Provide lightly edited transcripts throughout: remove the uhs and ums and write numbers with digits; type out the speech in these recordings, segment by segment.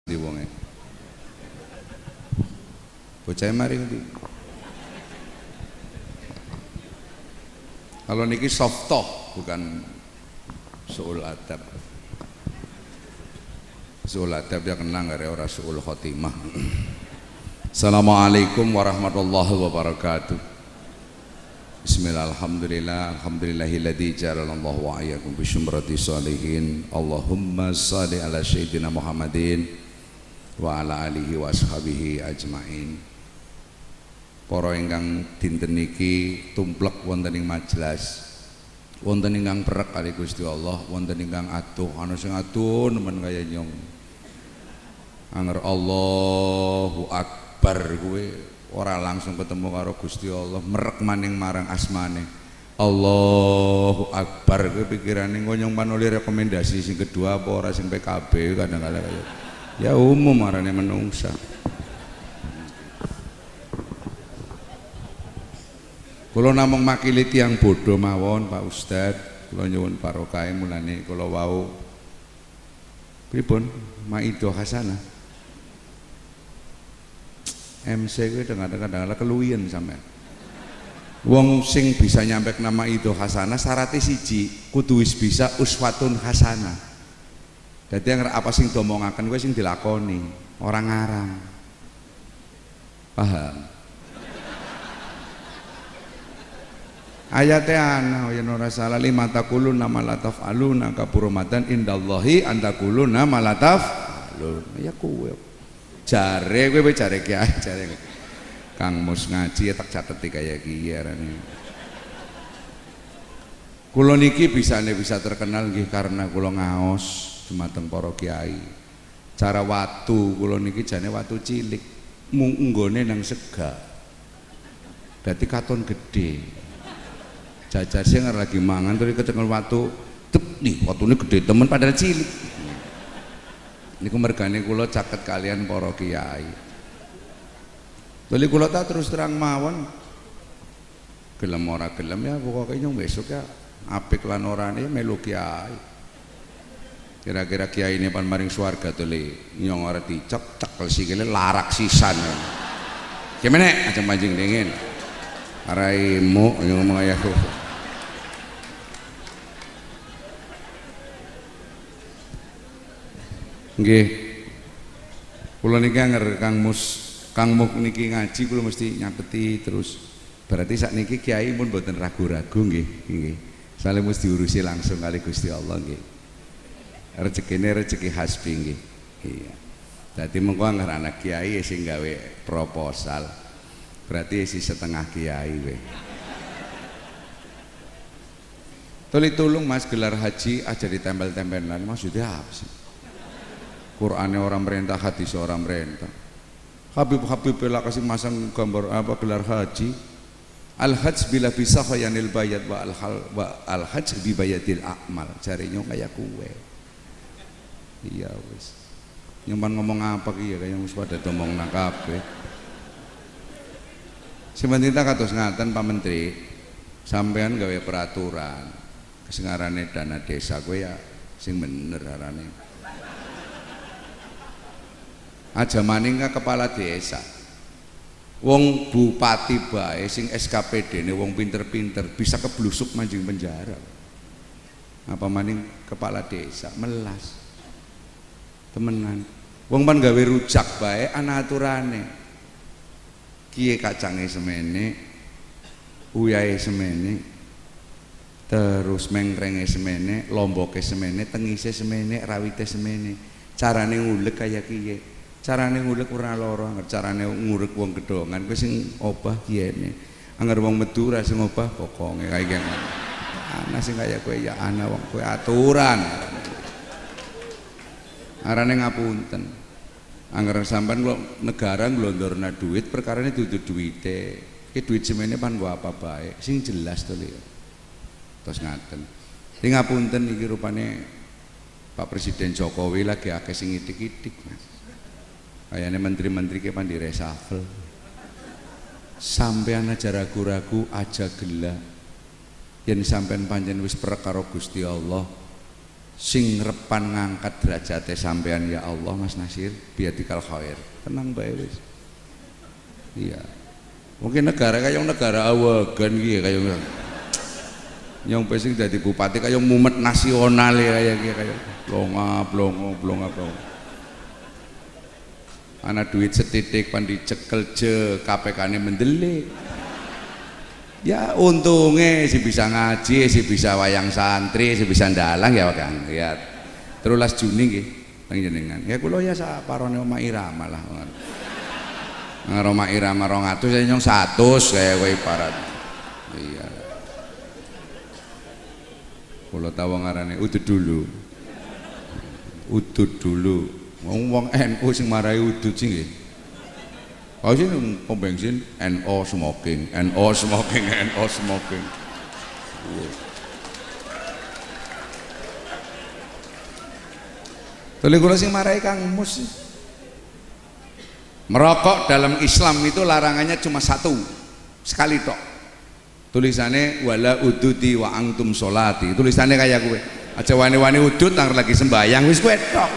Di wonge. Bocah mari ngendi? Kalau niki softoh bukan suul adab. Suul adab ya kenang gak ora suul khotimah. Assalamualaikum warahmatullahi wabarakatuh. Bismillah, alhamdulillah, alhamdulillahilladzi ja'alallahu wa iyyakum bi syumrati sholihin. Allahumma shalli ala sayyidina Muhammadin wa ala alihi wa ashabihi ajmain. Para ingkang dinten niki tumplek wonten ing majelis, wonten ingkang perek kali Gusti Allah, wonten ingkang aduh, ana sing aduh nemen kaya nyong. Anger Allahu Akbar kuwi ora langsung ketemu karo Gusti Allah, merek maning marang asmane. Allahu Akbar kuwi pikirane nyong panuli rekomendasi sing kedua apa ora sing PKB kadang-kadang kaya ya umum marane menungsa. Kula namung makili tiyang bodho mawon Pak Ustad, kula nyuwun barokah mulane kula wau pripun Maido Hasanah. MC kuwi kadang-kadang keluwihen sampean. Wong sing bisa nyampe nama Maido Hasanah syaratnya siji, kudu wis bisa uswatun hasanah. Dadi yang apa sing domongaken kuwi sing dilakoni, ora ngarang. Paham? Ayatnya ana ya ora salah lima taquluna ma la taf'aluna kaburumatan indallahi antakuluna ma la taf'alun. Ya kuwe. Jare kowe jare kiai jare. Kang Mus ngaji tak cateti kaya kiye arane. Kula niki bisa terkenal nggih karena kula ngaos dumateng para kiai. Cara watu kula niki jane watu cilik, munggone nang sega. Dadi katon gede. Jajar sing lagi mangan terus kecekel watu, tep nih watune gede temen padahal cilik. Niku mergane kula caket kalian para kiai. Beli kula tak terus terang mawon. Gelem ora gelem ya pokoke nyong besok ya apik lan orane melu kiai. Kira-kira kiai ini pan maring swarga to le nyong ora dicek cekel sikile larak sisan. Gimana aja mancing dingin. Araimu ngomong ayahku. Nggih. Kula niki anger Kang Muk niki ngaji kula mesti nyateti terus. Berarti sakniki kiai pun mboten ragu-ragu nggih, nggih. Sale mesti diurusi langsung kali Gusti Allah nggih. Rezekine rezeki hasbi nggih. Iya. Dadi mengko anger anak kiai sing gawe proposal. Berarti isi setengah kiai we. Tuli tulung Mas gelar haji aja ditempel-tempelan, maksudnya apa sih? Qur'ane orang merintah, hadis orang merintah. Habib lah kasih masang gambar apa gelar haji. Al-hajj bila bisa khayanil bayat wa al-hajj bi bayatil a'mal. Jarinya kayak kue. Iya wis. Nyuman ngomong apa ki ya kaya wis pada ngomong nang kabeh. Sebenarnya kados ngaten Pak Menteri, sampean gawe peraturan kesengarane dana desa kowe ya sing bener arane. Aja maning kepala desa. Wong bupati bae sing SKPD-ne wong pinter-pinter bisa keblusuk manjing penjara. Apa maning kepala desa melas. Temenan. Wong pan gawe rujak bae ana aturane. Kiye kacange semene, uyahe semene, terus mengkrenge semene, lomboke semene, tengise semene, rawite semene. Carane ngulek kaya kiye, carane ngulek ora lara, carane ngurek wong gedongan kuwi sing obah kiyene. Anger wong metu ra sing obah pokonge kaya kene. Ana sing kaya kowe ya ana wong kowe aturan. Arane ngapunten. Anggaran sampean kok negara nglondorna duit perkarane dudu duwite. Iki duit semene pan nggo apa bae sing jelas to lho. Terus ngaten. Sing ngapunten iki rupane Pak Presiden Jokowi lagi akeh sing itik-itik Mas. Kayane menteri-menteri ki pan direshuffle. Sampean aja ragu-ragu aja gelak. Yen sampean pancen wis perek karo Gusti Allah, sing repan ngangkat derajate sampean ya Allah Mas Nasir biadikal khair. Tenang bae wis. Iya. Mungkin negara kayak negara awagan gitu kayak yang pesing jadi bupati kayak mumet nasional ya kayak blonga. Anak duit setitik pan dicekel je KPK-ne mendelik. Ya untungnya si bisa ngaji, si bisa wayang santri, si bisa ndalang ya Kang. Ya 13 Juni nggih panjenengan. Ya kula ya saparone Oma Irama lah. Roma Irama 200 saya nyong 100 kayak kowe ibarat. Iya. Kula tahu ngarane udud dulu. Wong NU sing marahi udud sing nggih. Kau sih pom bensin NO smoking. Tuli kula sing marahi Kang Mus. Merokok dalam Islam itu larangannya cuma satu sekali tok. Tulisannya wala ududi wa antum sholati. Tulisannya kayak gue. Aja wani-wani udut nang lagi sembayang wis gue tok.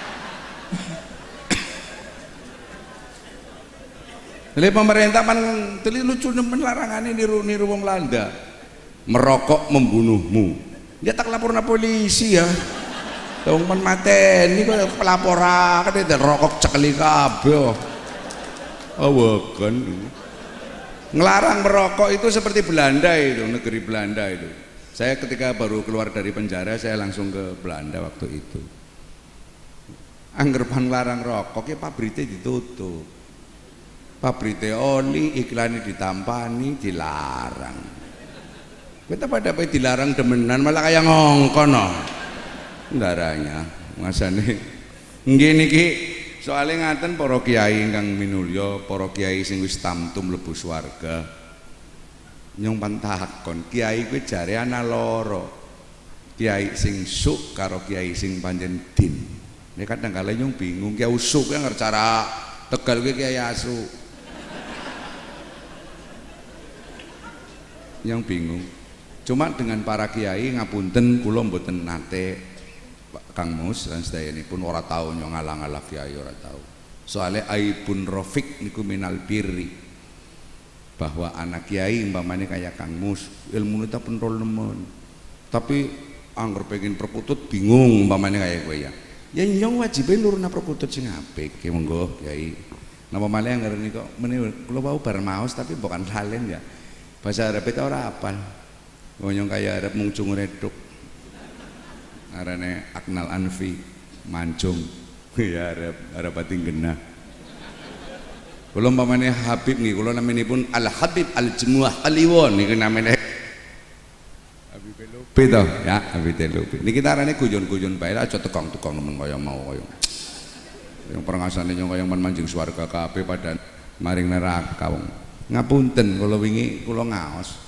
Jadi pemerintah pan teli lucu nemen larangannya niru wong Landa. Merokok membunuhmu. Dia tak laporan polisi ya. Wong men mateni kok pelaporan kan rokok cekeli kabeh. Awakan ngelarang merokok itu seperti Belanda itu, negeri Belanda itu. Saya ketika baru keluar dari penjara saya langsung ke Belanda waktu itu. Anggerpan larang rokok ya pabrite ditutup, pabrite oli iklannya ditampani dilarang. Kita pada apa dilarang demenan malah kayak ngongkon no darahnya masane gini ki. Soalnya ngaten para kiai ingkang minulya, para kiai sing wis tamtum mlebu swarga. Nyong pantakon, kiai kuwi jare ana loro. Kiai sing suk karo kiai sing panjen din. Nek kadang kala nyong bingung, kiai usuk yang cara Tegal kuwi kiai asu. Yang bingung. Cuma dengan para kiai ngapunten kula mboten nate Kang Mus dan sedayanipun ora tau nyong ngalang-alang kiai ora tau. Soalnya aibun rofik niku minal birri. Bahwa anak kiai umpamane kayak Kang Mus, ilmu nita pun rol nemen. Tapi angger pengen perkutut bingung umpamane kayak kowe ya. Ya nyong wajibe nuruna perkutut sing apik, monggo kiai. Napa malih angger niku meneh kula wau bar maos tapi bukan halen ya. Bahasa Arab itu ora apal. Nyong kaya Arab mung cungu reduk. Arane Aknal Anfi mancung ya Arab bating genah. Kula umpamane Habib nggih kula naminipun Al Habib Al Jumuah Kliwon niku namine Habib Lupi to ya Habib Lupi. Niki arane guyon-guyon bae aja tekong-tekong nemen kaya mau kaya. Yang perngasane nyong kaya manjing swarga kabeh padha maring neraka wong. Ngapunten kula wingi kula ngaos.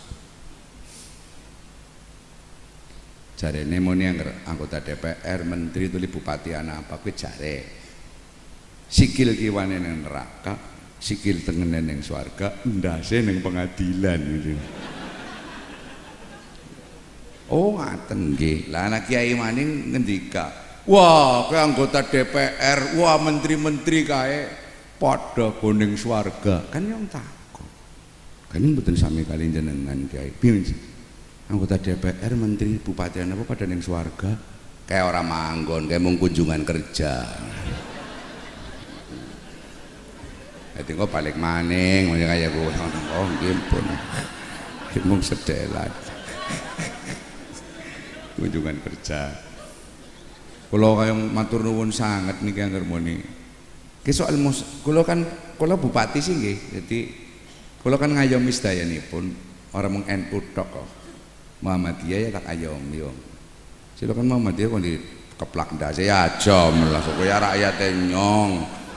Jarene muni anggota DPR, menteri tuli bupati anak apa kuwi jare. Sikil kiwane ning neraka, sikil tengene ning swarga, ndase ning pengadilan gitu. Oh ngaten nggih. Lah anak kiai maning ngendika, "Wah, kowe anggota DPR, wah menteri-menteri kae padha go ning swarga." Kan yang takon. Kan mboten sami kali jenengan kiai. Piye? Anggota DPR, menteri, bupati apa pada neng swarga kayak orang manggon, kayak mau kunjungan kerja. Jadi kok balik maning, makanya kayak gue, oh gimpun, mau sedelan, kunjungan kerja. Kalau kayak matur nuwun sangat nih kayak harmoni. Soal kalau kan kalau bupati sih, jadi kalau kan ngayomi sedaya nih pun orang meng NU tok kok. Muhammadiyah ya tak ayom yo. Silakan Muhammadiyah kok di keplak ndase ya aja malah kok ya rakyat nyong.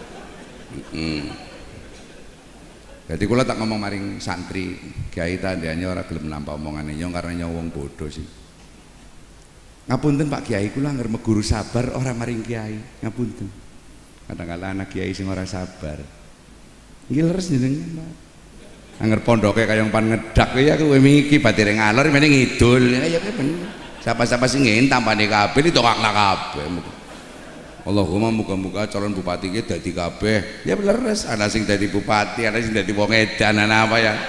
Jadi kula tak ngomong maring santri, kiai tandane ora gelem nampa omongane nyong karena nyong wong bodoh sih. Ngapunten Pak Kiai kula angger meguru sabar ora maring kiai. Ngapunten. Kadang-kadang anak kiai sing ora sabar. Nggih leres jenengan, Pak. Angger pondoke kaya pan ngedak ya kowe iki batire ngalor meneh ngidul. Ya bener. Siapa-siapa sing ngin tampane kabeh ditokakna kabeh. Allahumma muga-muga calon bupati ki dadi kabeh. Ya leres, ana sing dadi bupati, ana sing dadi wong edan, ana apa ya.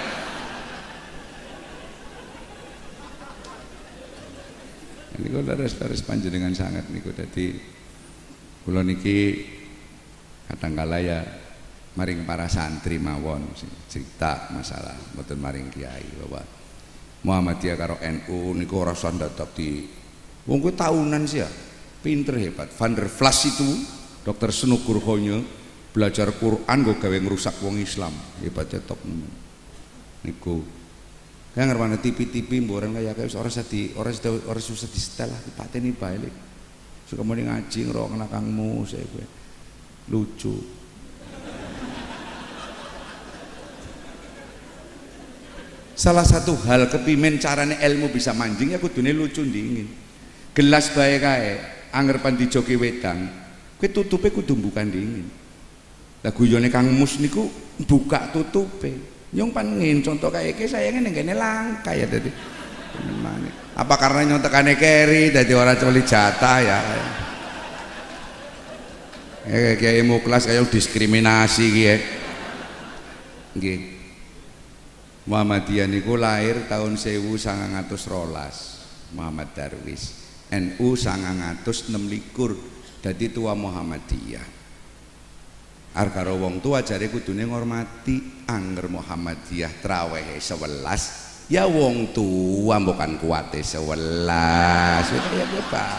Niku leres-leres panjenengan sangat niku dadi kula niki kadangkala ya maring para santri mawon cerita masalah mboten maring kiai bahwa Muhammadiyah karo NU niku ora usah ndadak di wong kuwi tahunan sih ya. Pinter hebat. Van der Vlas itu Dr. Snukur Honyo belajar Quran gue gawe ngerusak wong Islam hebatnya top niku kayak ngerwana TV mboren kayak orang susah di setel lah dipateni bae suka mau ngaji ngerok kena kangmu saya gue lucu salah satu hal kepimen carane ilmu bisa manjing ya kudune lucu dingin gelas bae kae anger pan dijoki wedang kowe tutupe kudu bukan dingin lah guyone Kang Mus niku buka tutupe nyong pangin contoh kayak iki sayangnya nenggene langka ya dadi apa karena nyontekane keri dadi ora coli jatah ya kayak Muklas kayak diskriminasi gitu nggih Muhammadiyah niku lahir tahun 1912 Muhammad Darwis NU 1926 dadi tua Muhammadiyah karo wong tua jare kudune ngormati anger Muhammadiyah trawehe 11 ya wong tua bukan kuate 11 ya Pak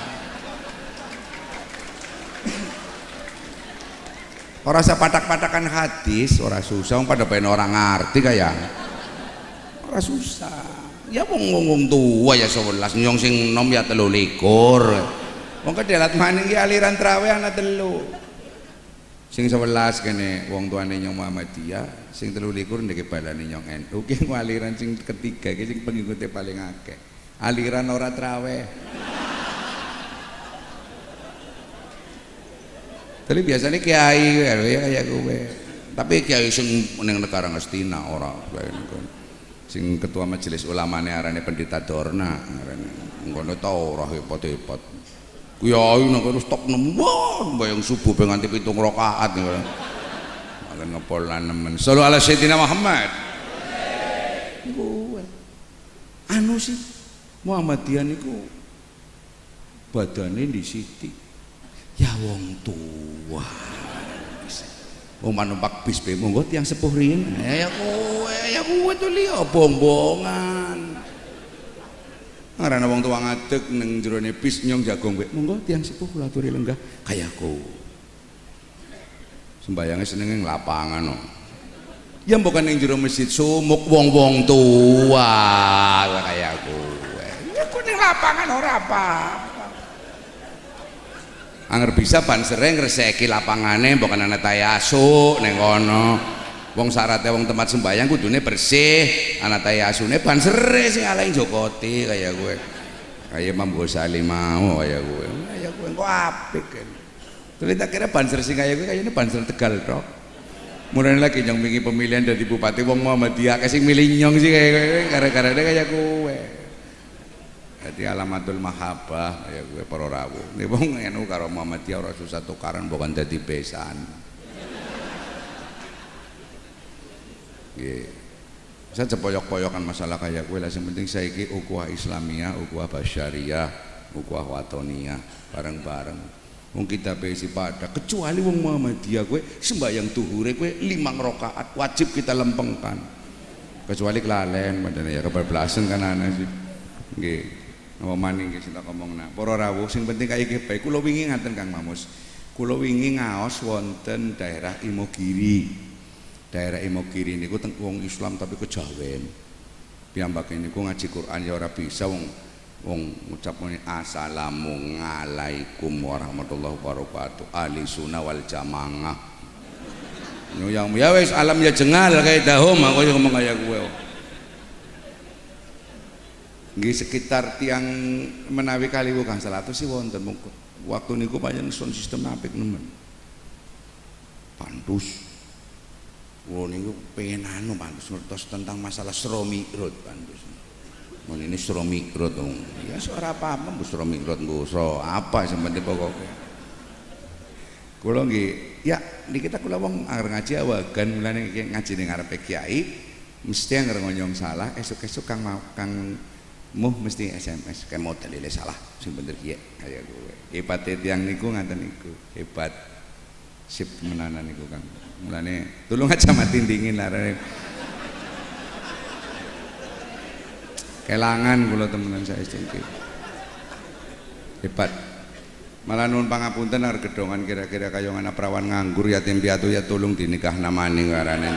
ora usah patak-patakan hadis ora susah pada pengen orang ngerti kayak ora susah ya wong tua ya 11 nyong sing nom ya 23 wong kedelat maning ki aliran traweh ana 3 sing 11 kene wong tuane nyong Muhammadiyah sing 23 ndeke balane nyong NU ki aliran sing ketiga ki sing pengikute paling akeh aliran ora traweh tapi biasanya kiai ya kayak gue tapi kiai sing ning negara Ngastina ora sing ketua majelis ulamane arane Pendeta Dorna arane ngono ta ora hebat-hebat kiai nang kono stok nembang mbayang subuh pe nganti 7 rakaat ngono malah ngepol nemen sallu ala sayyidina Muhammad gue anu sih Muhammadiyah niku badane disiti ya wong tua wong manumpak bis be monggo tiyang sepuh riyin ya kowe to liya bombongan ngarana wong tua ngadeg ning jerone bis nyong jagung kowe monggo tiyang sepuh kula aturi lenggah kayaku sembayange senenge ning lapangan no ya bukan ning jero masjid sumuk wong-wong tua kayaku ya ku ning lapangan ora apa anger bisa ban sering ngreseki lapangane bukan ana tayasu ning kono wong syaratnya wong tempat sembahyang kudune bersih ana tayasune ban sere sing alain Jokoti kaya gue kaya Imam Ghazali mau kaya gue engko apik kan terus tak kira banser sing kaya gue kayaknya banser Tegal tok mulane lagi nyong wingi pemilihan dari bupati wong Muhammadiyah kasih milih nyong sih kaya gue gara-gara kaya gue jadi alamatul mahabbah ya gue para rawuh nek wong NU karo Muhammadiyah ora susah tukaran bukan dadi besan nggih saya cepoyok-poyokan masalah kayak gue lah yang penting saiki ukhuwah Islamiyah ukhuwah basyariyah ukhuwah watoniyah bareng-bareng wong kita besi pada kecuali wong Muhammadiyah gue sembahyang duhure gue 5 rakaat wajib kita lempengkan kecuali kelalen padane ya kebablasan kan ana sih nggih apa maning sing tak omongna para rawuh sing penting kaya iki bae kula wingi ngaten Kang Mamus kula wingi ngaos wonten daerah Imogiri niku teng wong Islam tapi kejawen piyambake niku ngaji Quran ya ora bisa wong ngucap muni assalamualaikum warahmatullahi wabarakatuh ahli sunnah wal jamaah yang ya wis alam ya jengal kayak dahom aku ngomong kaya gue nggih sekitar tiang menawi kaliwu Kang 100 sih wonten waktu niku pancen sound system apik nemen Pandus niku pengen anu Pandus ngertos tentang masalah Sro Mi'raj Pandus mun ini suro mikrot dong ya suara apa-apa suro mikrot suro apa sebenarnya pokoknya kula nggih ya di kita kula wong anger ngaji awagan mulane ngaji ning ngarepe kiai mesti anger ngonyong salah esuk-esuk kang muh mesti SMS kayak model ile salah sing bener kiye kaya kowe hebat tiyang niku ngaten niku hebat sip menanan niku Kang mulane tulung aja mati dingin larane kelangan kula temenan saya iki hebat malah nuwun pangapunten arep gedongan kira-kira kaya ngana prawan nganggur yatim piatu ya tulung dinikah namane karane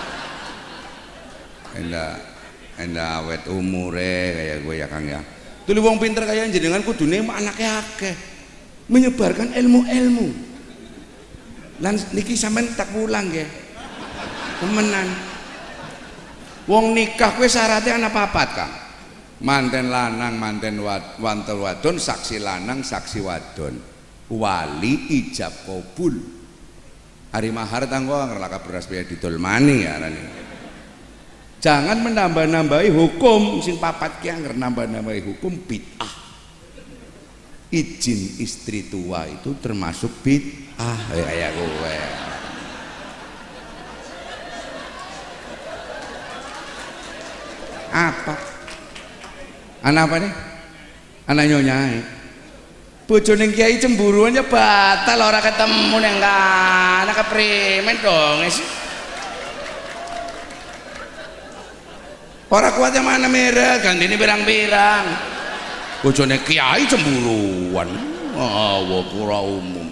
ndak awet umure kaya gue ya Kang ya. Tuli wong pinter kaya jenengan kudune anake akeh. Menyebarkan ilmu-ilmu. Lan niki sampean tak pulang nggih. Temenan. Wong nikah kuwi syaratnya ana papat, Kang. Manten lanang, manten wantel wadon, saksi lanang, saksi wadon. Wali ijab kabul. Hari mahar tanggo ngerlaka beras biaya didolmani ya arane. Jangan menambah-nambahi hukum sing papat ki anger nambah-nambahi hukum bid'ah. Izin istri tua itu termasuk bid'ah kayak kowe. Apa? Anak apa nih? Anak nyonyai. Bojone kiai cemburuannya batal ora ketemu neng anak keprimen dong sih. Orang kuat yang mana merah, ganti ini birang-birang. Bojone kiai cemburuan, pura umum.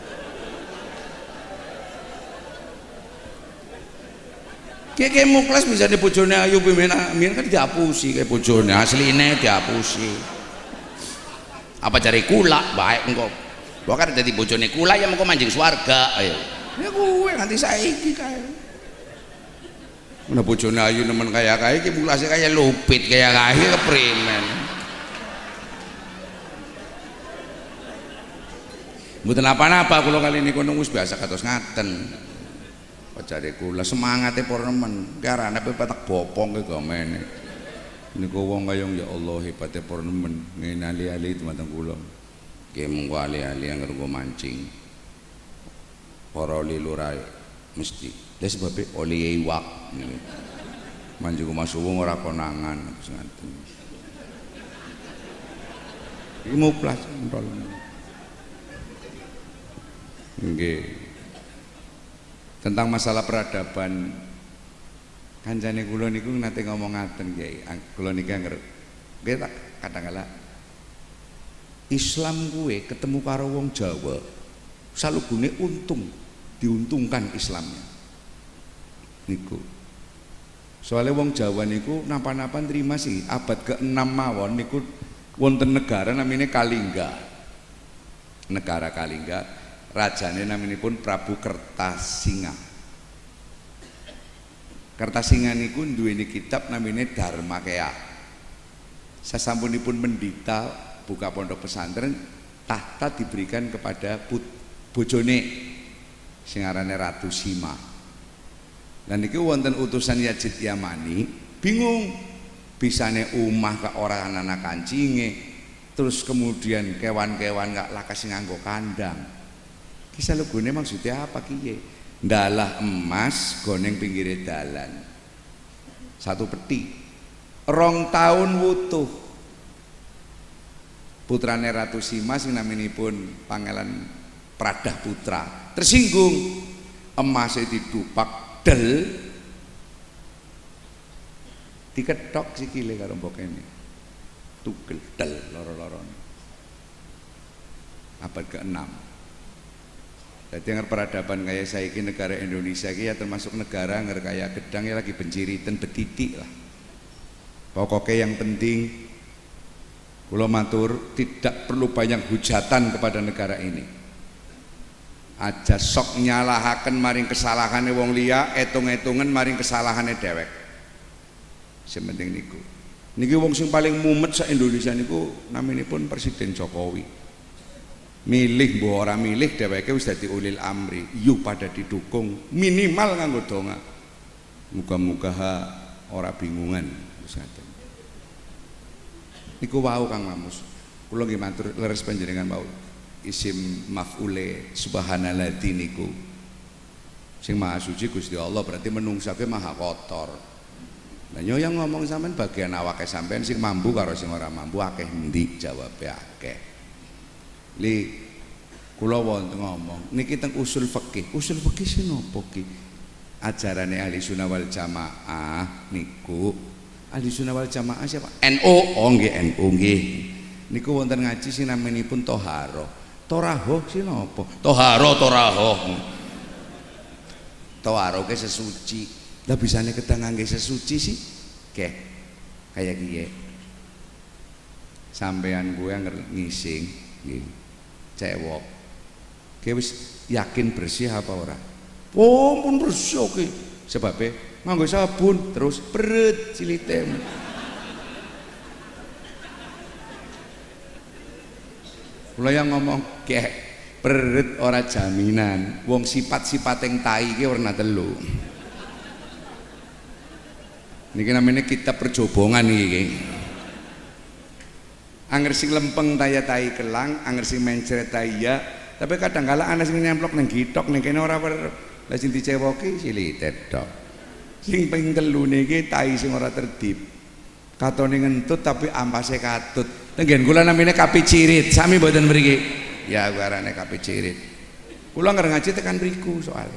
Kiai muklas bisa di bojone ayu pimena, kan dihapusi kayak bojone aslinya dihapusi. Apa cari kula, baik engkau. Gua kan jadi bojone kula yang mau mancing swarga, ayo. Ya gue nanti saiki kayak. Mana bojone ayu nemen kaya ki mulase kaya lupit kaya kae keprimen. Mboten apa-apa kula kali niku wis biasa kados ngaten. Pacare kula semangate para nemen, karane petak bopong ki gamene. Niku wong kaya ya Allah hebate para nemen, ngene ali-ali teman kula. Ki mengko ali-ali anggere mancing. Para lilurae mesti lha sebab oli iwak manjung masuwung ora konangan ngaten iki muplas entol nggih tentang masalah peradaban kancane kula niku nate ngomong ngaten Kyai kula niki anger nggih tak kadang-kala Islam kuwe ketemu karo wong Jawa salubune untung diuntungkan Islamnya niku soalnya wong Jawa niku napa-napa terima sih abad ke-6 mawon niku wonten negara namanya Kalingga negara Kalingga rajane naminipun Prabu Kertasinga Kertasinga niku duweni kitab namanya Dharmakaya sasampunipun mendita buka pondok pesantren tahta diberikan kepada bojone sing arane Ratu Sima. Dan niki wonten utusan Yazid Yamani bingung bisane omah kok ora ana kancinge terus kemudian kewan-kewan gak lakas nganggo kandang kisah legone maksudnya apa kiye ndalah emas goneng pinggire dalan satu peti 2 tahun wutuh putrane Ratu Sima sing naminipun Pangeran Pradah Putra tersinggung emasnya didupak del diketok sikile karo mbokene tugel del loro-lorone abad ke-6 jadi yang peradaban kayak saiki negara Indonesia ki ya termasuk negara yang kaya gedang ya lagi benciritan betitik lah pokoknya yang penting kula matur tidak perlu banyak hujatan kepada negara ini aja sok nyalahaken maring kesalahane wong liya etung-etungan maring kesalahane dhewek sing penting niku niki wong sing paling mumet sak Indonesia niku naminipun Presiden Jokowi milih mbok ora milih dheweke wis dadi ulil amri yuk pada didukung minimal nganggo donga muga-muga ora bingungan wis ngaten Niku wau Kang Mamus. Kula nggih matur leres panjenengan wau isim maf'ule subhanalladzi niku. Sing maha suci Gusti Allah berarti menungsake maha kotor. Nah yo yang ngomong sampean bagian awake sampean sing mampu karo sing ora mampu akeh endi jawabe akeh. Li kula wonten ngomong niki teng usul fikih. Usul fikih sing napa ki? Ajarane ahli sunnah wal jamaah niku. Ahli sunnah wal jamaah siapa? NU. Oh nggih NU nggih. Niku wonten ngaji sing namanipun toharoh. Torahoh sing napa? Toharoh torahoh. Toharoh ke sesuci. Lah bisane kita ngangge sesuci sih? Keh. Kayak kiye. Sampean gue ngising nggih. Cewek. Ki wis yakin bersih apa ora? Oh, pun bersih oke. Sebabnya nganggo sabun terus beret cilite. Kula yang ngomong kek beret ora jaminan. Wong sifat-sifat yang tai ki warna telu. Niki namanya kitab perjobongan niki. Anger sing lempeng taya tai kelang, anger sing mencret taya. Tapi kadang-kala ana sing nyemplok nang gitok ning kene ora lah sing dicewoki silitet tok. Sing ping telu niki tai sing ora tertib. Katone ngentut tapi ampase katut. Tenggen kula namine kapi cirit, sami mboten mriki. Ya arane kapi cirit. Kula nger ngaji tekan mriku soalnya.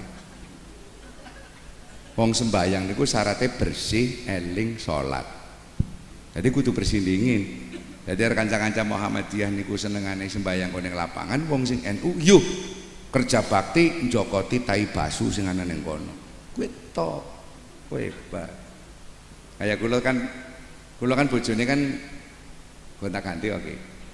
Wong sembayang niku syaratnya bersih, eling, salat. Jadi kudu bersih dingin. Jadi kanca-kanca Muhammadiyah niku senengane sembayang ning lapangan, wong sing NU yuk kerja bakti njokoti tai basu sing ana ning kono. Kuwi tok. Kowe hebat. Kayak kula kan bojone kan gonta-ganti oke.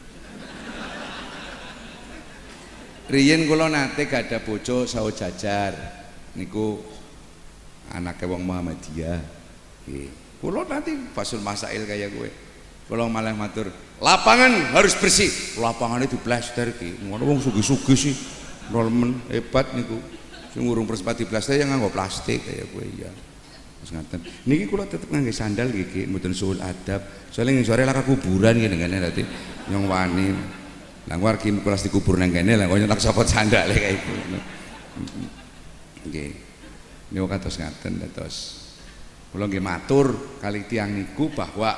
Riyen kula nate gada bojo sawo jajar niku anake wong Muhammadiyah. Nggih. Kula nanti basul masail kayak gue. Kula malah matur, lapangan harus bersih. Lapangannya diplaster ki. Ngono wong sugih-sugih sih. Rolmen hebat niku. Sing ngurung perspat diplaster yang nganggo plastik kayak gue ya. Terus ngaten. Niki kula tetep ngangge sandal iki mboten suul adab. Soalnya ning sore laka kuburan ngene ngene dadi nyong wani. Lah wargi kula dikubur nang kene lah kok nyetak sopot sandale kayak iku. Nggih. Niku kados ngaten dados. Kula nggih matur kali tiyang niku bahwa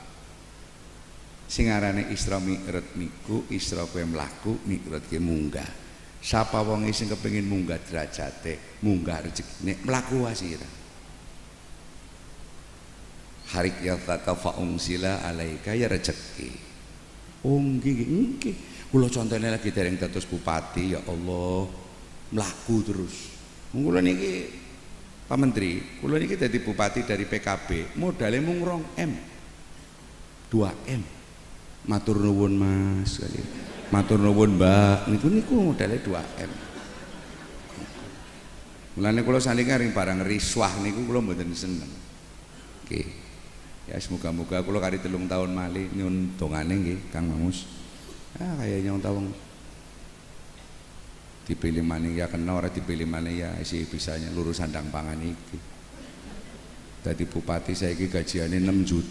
sing arane Isra Mi'raj niku Isra kowe mlaku, Mi'raj ki munggah. Sapa wong sing kepengin munggah derajate, munggah rezekine mlaku wasira. Harik ya tatafa'ung sila alaika ya rezeki. Oh nggih. Kula contone lagi dereng dados bupati ya Allah, mlaku terus. Kula niki Pak Menteri, kula niki dadi bupati dari PKB, modalnya mung 2M. 2M. Matur nuwun Mas kali. Matur nuwun Mbak. Niku modalnya 2M. Mulane kula salinge ring barang riswah niku kula mboten seneng. Nggih. Ya semoga-moga kula kari 3 tahun malih nyun dongane nggih Kang Mamus. Kaya nyong tawang dipilih maneh ya kena ora dipilih maneh ya isi bisanya lurus sandang pangan iki. Dadi bupati saiki gajiane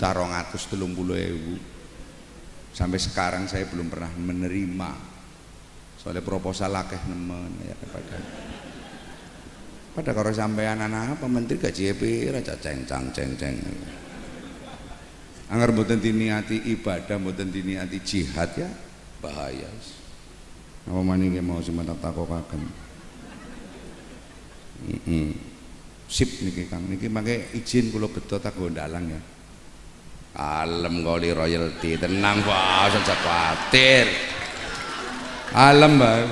6.230.000. Sampai sekarang saya belum pernah menerima. Soalnya proposal akeh nemen ya pada karo sampean anak apa menteri gaji pira cengcang. Angger mboten diniati ibadah, mboten diniati jihad ya bahaya. Apa maneh mau sementak takokaken. Sip niki Kang, niki mangke izin kula beto tak gondalang ya. Alem kali royalti, tenang Pak, aja kuwatir. Alem, Mbak.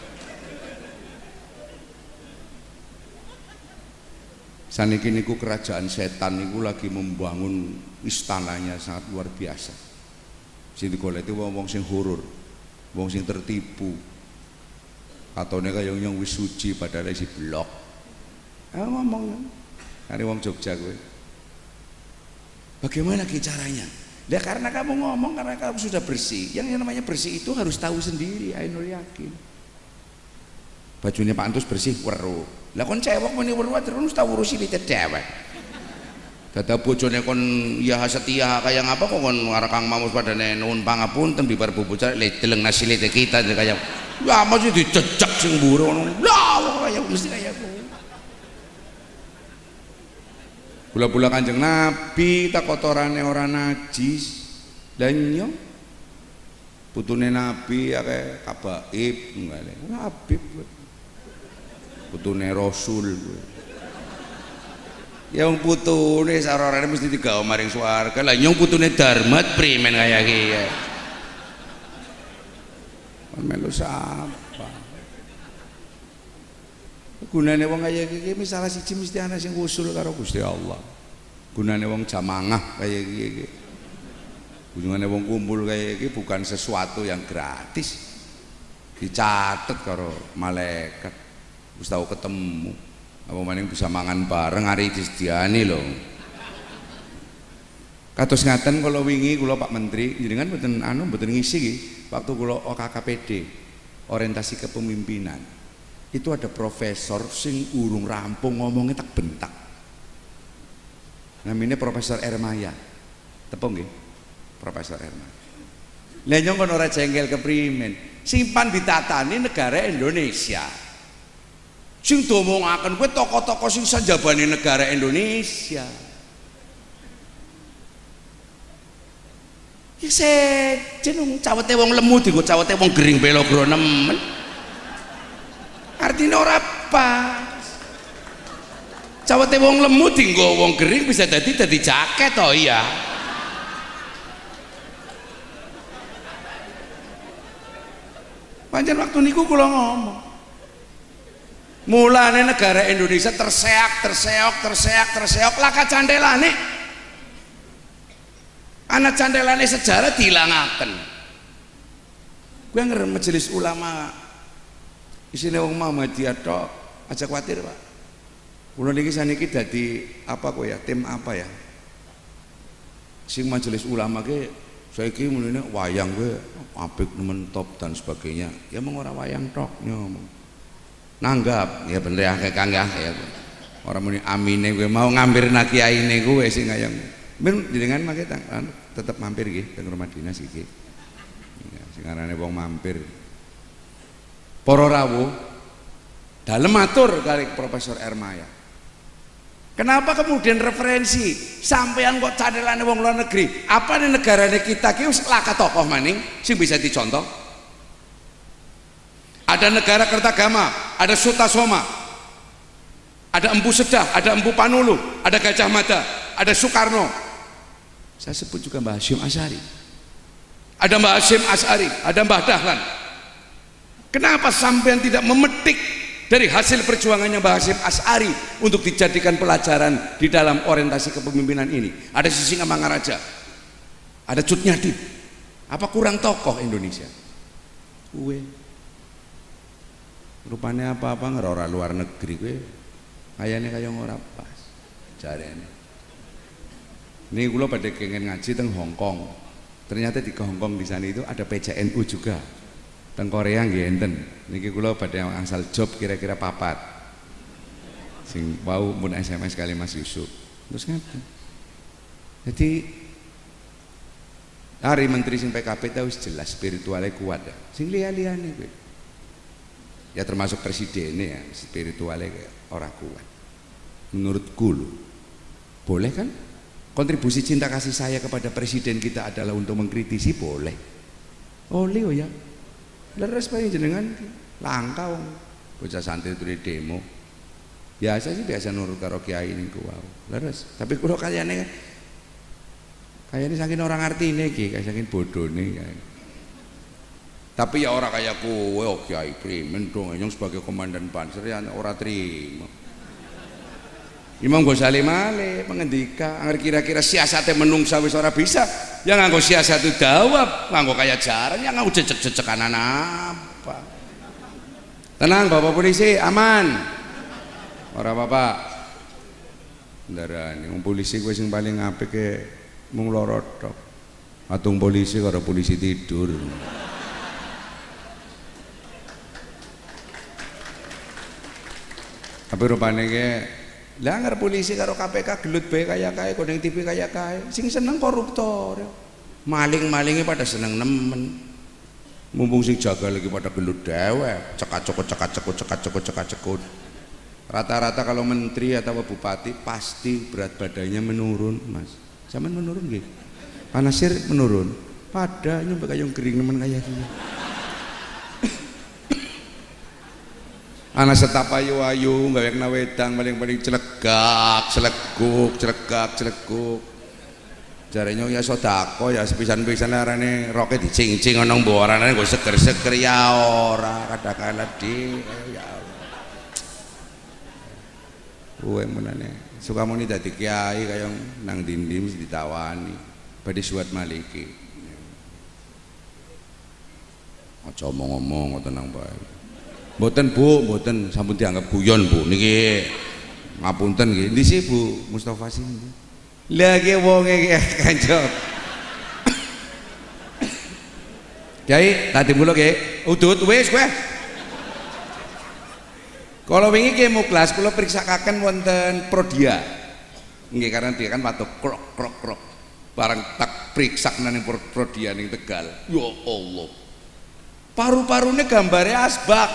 Saniki niku kerajaan setan niku lagi membangun istananya sangat luar biasa. Sing digoleki wong-wong sing horor, wong sing tertipu. Katone kaya nyong wis suci padahal isi blok. Ngomong kare wong Jogja kowe. Bagaimana caranya? Ya karena kamu ngomong, karena kamu sudah bersih. Yang namanya bersih itu harus tahu sendiri. Ainul yakin. Bajunya Pak Antus bersih, weru. Lah kon cewek muni weru terus tahu urusi licet dewek. Dadi bojone kon ya setia kaya ngapa kok kon karo Kang Mamus padane nuwun pangapunten bibar bubut le deleng nasilite kita kaya ya mesti dicecek sing mburu ngono. Lah kaya mesti kaya Bula-bula Kanjeng Nabi tak kotorane ora najis. Lah iya putune Nabi akeh kabaib ngene. Habib putune Rasul. Ya wong putune sarorane mesti digawa maring swarga. Lah nyong putune Darmat primen kaya iki. Melu sapa? Gunane wong kaya iki misalnya siji mesti ana sing usul karo Gusti Allah. Gunane wong jamangah kaya iki. Gunane wong kumpul kaya iki bukan sesuatu yang gratis. Dicatet karo malaikat. Wis tau ketemu. Apa maning bisa mangan bareng hari disediani lho. Kados ngaten kula wingi kula Pak Menteri jenengan mboten mboten ngisi iki waktu kula OKKPD orientasi kepemimpinan. Itu ada profesor sing urung rampung ngomongnya tak bentak. Namanya Profesor Ermaya. Tepung nggih? Profesor Ermaya. Lah nyong kon ora jengkel keprimen. Simpan ditatani negara Indonesia. Sing domongaken kowe tokoh-tokoh sing sanjabane negara Indonesia. Ya jeneng cawete wong lemu dienggo cawete wong gering belogro nemen. Artinya ora pas. Cawete wong lemu dienggo wong gering bisa dadi jaket to iya. Pancen waktu niku kula ngomong. Mulane negara Indonesia terseok laka candelane. Anak candelane sejarah dihilangaken. Gue ngerem majelis ulama isine wong Muhammadiyah tok, aja kuwatir, Pak. Kula niki saniki dadi apa kok ya, tim apa ya? Sing majelis ulama ke saiki mulane wayang gue apik nemen top dan sebagainya. Ya mung ora wayang tok ngomong. Nanggap ya bener akeh Kang ya. Ora muni amine kowe mau ngampir nak kiyaine kowe sing kaya men jenengan mangke tetep mampir nggih teng rumah dinas iki. Ya, sing arane wong mampir. Para rawuh dalem matur kali Profesor Ermaya. Kenapa kemudian referensi sampean kok candelane wong luar negeri? Apa nih negarane kita ki wis laka tokoh maning sing bisa dicontoh? Ada negara Kertagama, ada Sutasoma, ada Empu Sedah, ada Empu Panulu, ada Gajah Mada, ada Soekarno. Saya sebut juga Mbah Hasyim Asy'ari. Ada Mbah Hasyim Asy'ari, ada Mbah Dahlan. Kenapa sampean tidak memetik dari hasil perjuangannya Mbah Hasyim Asy'ari untuk dijadikan pelajaran di dalam orientasi kepemimpinan ini? Ada Sisingamangaraja, ada Cut Nyadim. Apa kurang tokoh Indonesia? Rupanya apa-apa ngerora luar negeri gue kayaknya kayak ora pas jarene. Ini gue pada pengen ngaji teng Hong Kong. Ternyata di Hong Kong di sana itu ada PCNU juga. Teng Korea nggih enten. Niki kula pada angsal job kira-kira papat. Sing wau mun SMS kali Mas Yusuf. Terus ngaten. Jadi hari menteri sing PKP tahu jelas spiritualnya kuat ya. Sing liya-liyane kowe. Ya termasuk presidennya ya spiritualnya orang kuat. Menurutku loh, boleh kan? Kontribusi cinta kasih saya kepada presiden kita adalah untuk mengkritisi, boleh. Oleh oh ya. Leres paling jenengan langka wong. Bocah santri itu di demo. Biasa sih biasa nurut karo kiai niku wae. Leres. Tapi kula kayane saking orang artine iki, saking bodone kae. Tapi ya orang kayak kowe oh kiai primen dong yang sebagai komandan panser ya ora trimo. Imam Ghazali malih mengendika agar kira-kira siasate menungsa wis ora bisa ya nganggo siasat itu dawab nganggo kaya jaran ya nganggo jejek-jejekanan apa. Tenang Bapak polisi aman. Ora apa-apa. Ndarani wong polisi kowe sing paling apik ke mung loro tok. Atung polisi karo polisi tidur. Tapi rupanya ke Lah ngarep polisi karo KPK gelut bae kaya kae, kodeng TV kaya kae. Sing seneng koruptor. Maling-malinge pada seneng nemen. Mumpung sing jaga lagi pada gelut dewek, cekak-cekut. Rata-rata kalau menteri atau bupati pasti berat badannya menurun, Mas. Zaman menurun nggih. Panasir menurun. Pada nyampe kayong kering nemen kaya gini. Anak setap ayu-ayu gawekna wedang paling-paling celegak, celeguk. Jarene ya sedako ya sepisan-pisan arane roke dicing-cing ana mborane nggo seger-seger ya ora kadang-kala di ya Allah. Kowe menane suka muni dadi kiai kayong nang dindi mesti ditawani badhe suwat maliki. Aja omong-omong ngoten nang bae. Mboten Bu, mboten sampun dianggap guyon Bu niki. Ngapunten nggih. Ndi sih Bu Mustofa sih? Lah ki wonge ki kanjeng. Kyai, tadi mulo nggih. Udut wis kowe. Kalau wingi ki muklas kula priksakaken wonten Prodia. Nggih karena dia kan watuk krok. Barang tak priksak nang Prodia ning Tegal. Ya Allah. Paru-parune gambare asbak.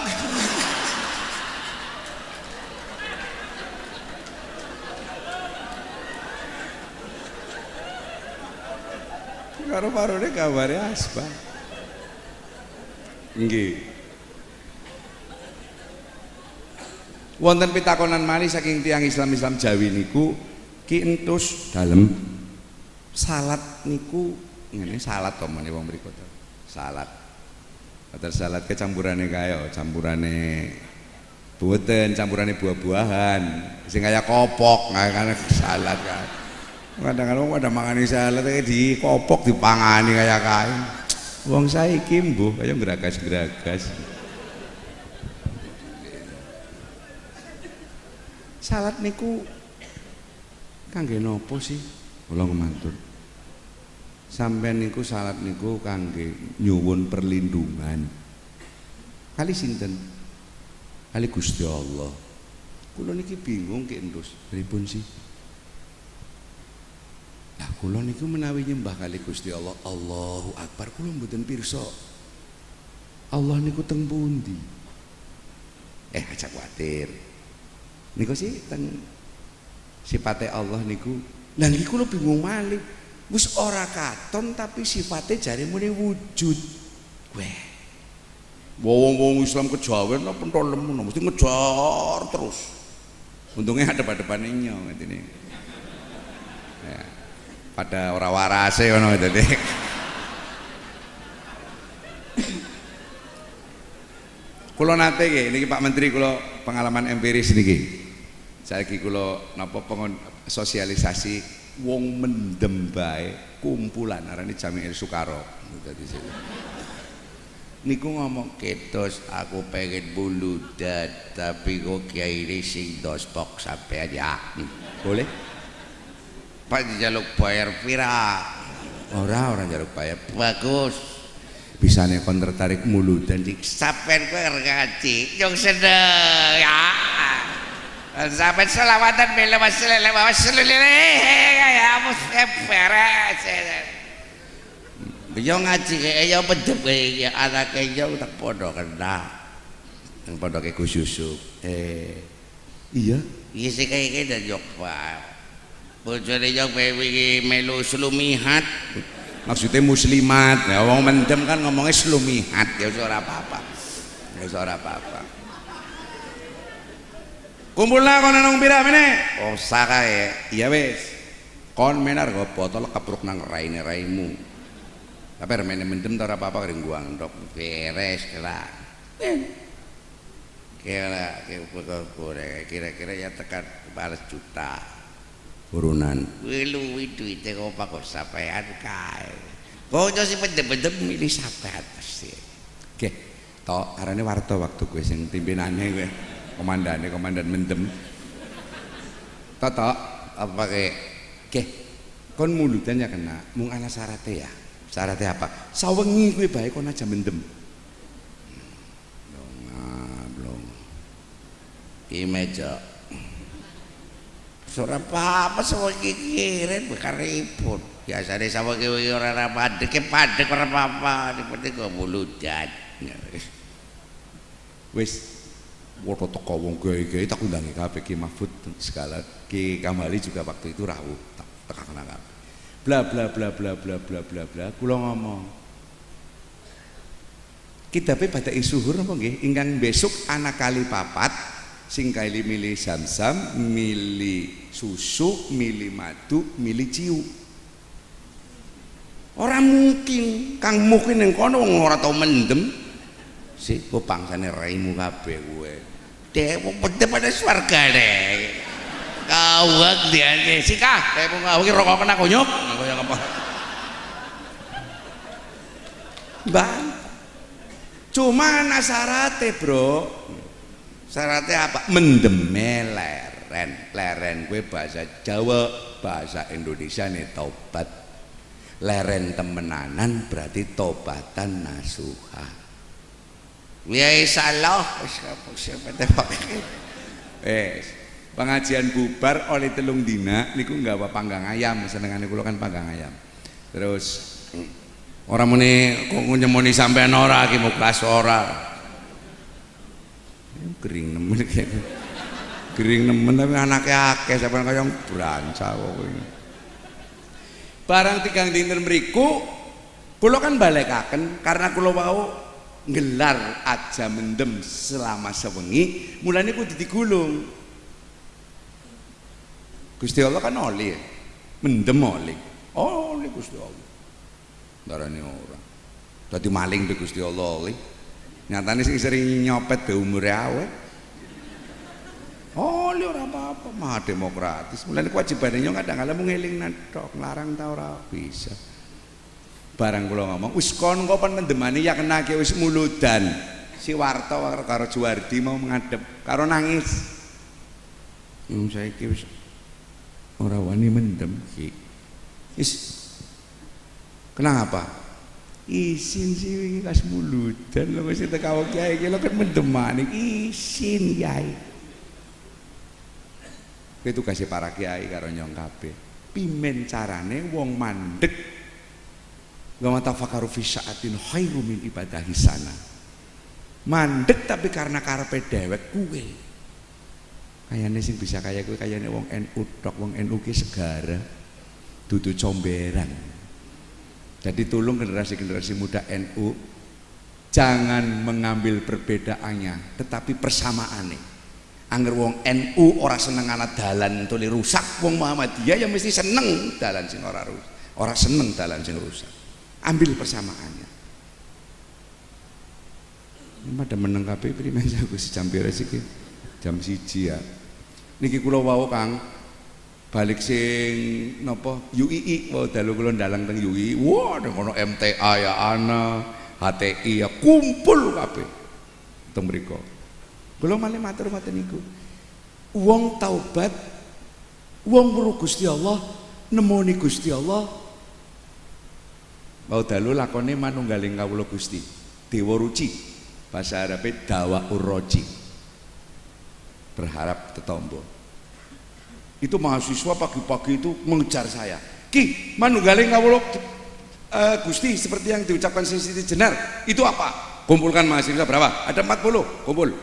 Paru-parune gambare asbak. Nggih. Wonten pitakonan malih saking tiyang Islam Jawi niku ki entus dalem salat niku ngene salat to meneh wong mriku to. Salat. Atar salad ke campurane kaya campurane boten campurane buah-buahan sing kaya kopok kan salad kan kadang-kadang ada mangani salad di kopok dipangani kaya kae wong saiki mbuh kaya geragas-geragas salad niku kangge nopo sih kula matur sampean niku salat niku kangge nyuwun perlindungan kali sinten kali Gusti Allah kula niki bingung ki endus pripun sih lah kula niku menawi nyembah kali Gusti Allah Allahu Akbar kula mboten pirsa Allah niku teng pundi aja kuwatir niku sih teng sifate Allah niku lah niki kula bingung malih wis ora katon tapi sifatnya jare muni wujud. Weh. Wong-wong Islam kejawen apa pentol lemu mesti ngejar terus. Untungnya hadap-hadapane nyo ngene. Ya. Pada ora warase ngono dadi. Kula nate nggih niki Pak Menteri kula pengalaman empiris niki. Saiki kula napa sosialisasi wong mendem bae kumpulan arane Jami'il Sukaro dadi niku ngomong ketos aku pengen buludat tapi kok kiai sing dostok sampean ya boleh Pak dijaluk bayar pira ora njaluk bayar bagus bisane kon tertarik muludan dik sampean kowe ngaji yo sedeng ya sampai selawatan bela wasallam ya beres yo ngaji yo pedep ya anake yo tak padha kena nang pondoke Gus Yusuf iya sing kaya dan yo bojone yo wingi melu slumihat maksudnya muslimat ya wong mendem kan ngomongnya slumihat ya ora apa-apa kumpulna kon nang pira meneh oh sakae iya wis kon menar go botol kepruk nang raine-raimu tapi remene mendem ta ora apa-apa kering gua ndok beres lah kira-kira ya tekan 4 juta urunan luwi duite kok kok sampean kae kok sing mendem-mendem milih sampean pasti nggih to karane warta waktu kowe sing pimpinane kowe komandan mendem toto apa ke kon muludan ya kena mung ana syaratnya apa sawengi kuwi bae kon aja mendem blong iki meja ora apa-apa sewengi kirin bekaripun. Biasane sawengi ora padhek ora apa-apa, penting kok muludan. Wis woto teko wong gawe-gawe tak undangi kabeh Ki Mahfud segala Ki Kambali juga waktu itu rawuh tak tekakna kabeh. Bla bla bla bla bla bla bla bla kula ngomong. Kitabe badhe suhur napa nggih ingkang besok anak kali papat sing kali milih samsam, milih susu, milih madu, milih ciu. Ora mungkin Kang mungkin ning kono wong ora tau mendem. Sik kok pangsane raimu kabeh kowe. Dek penting pada swargane. Kawak diane sikah, dek mung ngawuh rokok kena kunyuk. Kaya apa? Bang. Cuma ana syarate, Bro. Syarate apa? Mendeme leren. Leren kuwi bahasa Jawa, bahasa Indonesia nih tobat. Leren temenanan berarti tobatan nasuha. Ya salah pengajian bubar oleh telung dina niku nggawa panggang ayam senengane kula kan panggang ayam. Terus ora muni kok nyemoni sampean ora ki muklas ora. Gering nemen gering nemen tapi anake akeh sampean kaya branca kok kowe. Barang 3 dinten mriku kula kan balekaken karena kula wau ngelar aja mendem selama sewengi mulane kudu digulung. Gusti Allah kan oli ya. Mendem oli Gusti Allah darane ora dadi maling be Gusti Allah oli nyatane sing sering nyopet be umure awet oli ora apa-apa mah demokratis mulane kewajibane nyong kadang-kadang mung eling tok nglarang ta ora bisa. Barang kula ngomong wis kon kok pendemane ya kena ki wis muludan. Si Warta karo Juwardi mau ngadep karo nangis. Saiki wis ora wani mendem ki. Wis kenapa? Isin sih kas muludan lho wis teko kiai iki lho kan mendemane isin kiai. Itu kasih para kiai karo nyong kabeh. Pimen carane wong mandeg wa tafakkaru fi sa'atin khairu min ibadahi sana. Mandek tapi karena karepe dhewek kuwe. Kayane sing bisa kaya kuwe kayane wong NU tok, wong NU ki segara. Dudu comberan. Jadi tolong generasi-generasi muda NU jangan mengambil perbedaannya tetapi persamaane. Angger wong NU ora seneng ana dalan tuli rusak, wong Muhammadiyah ya mesti seneng dalan sing ora rusak. Ora seneng dalan sing rusak. Ambil persamaannya. Pada meneng kabeh primen aku jam beres iki. Jam 1 ya. Niki kula wau Kang balik sing napa UII wau dalu kula ndalang teng UII. Wah, ning kono MTA ya ana, HTI ya kumpul kabeh. Teng mriku. Kula malih matur ngoten niku. Wong taubat, wong weruh Gusti Allah, nemoni Gusti Allah. Mau dalu lakone manunggaling kawula Gusti Dewa Ruci bahasa Arabe dawa urroji berharap tetombo. Itu mahasiswa pagi-pagi itu mengejar saya, Ki manunggaling kawula Gusti seperti yang diucapkan Siti Jenar itu apa? Kumpulkan mahasiswa berapa? Ada 40 kumpul.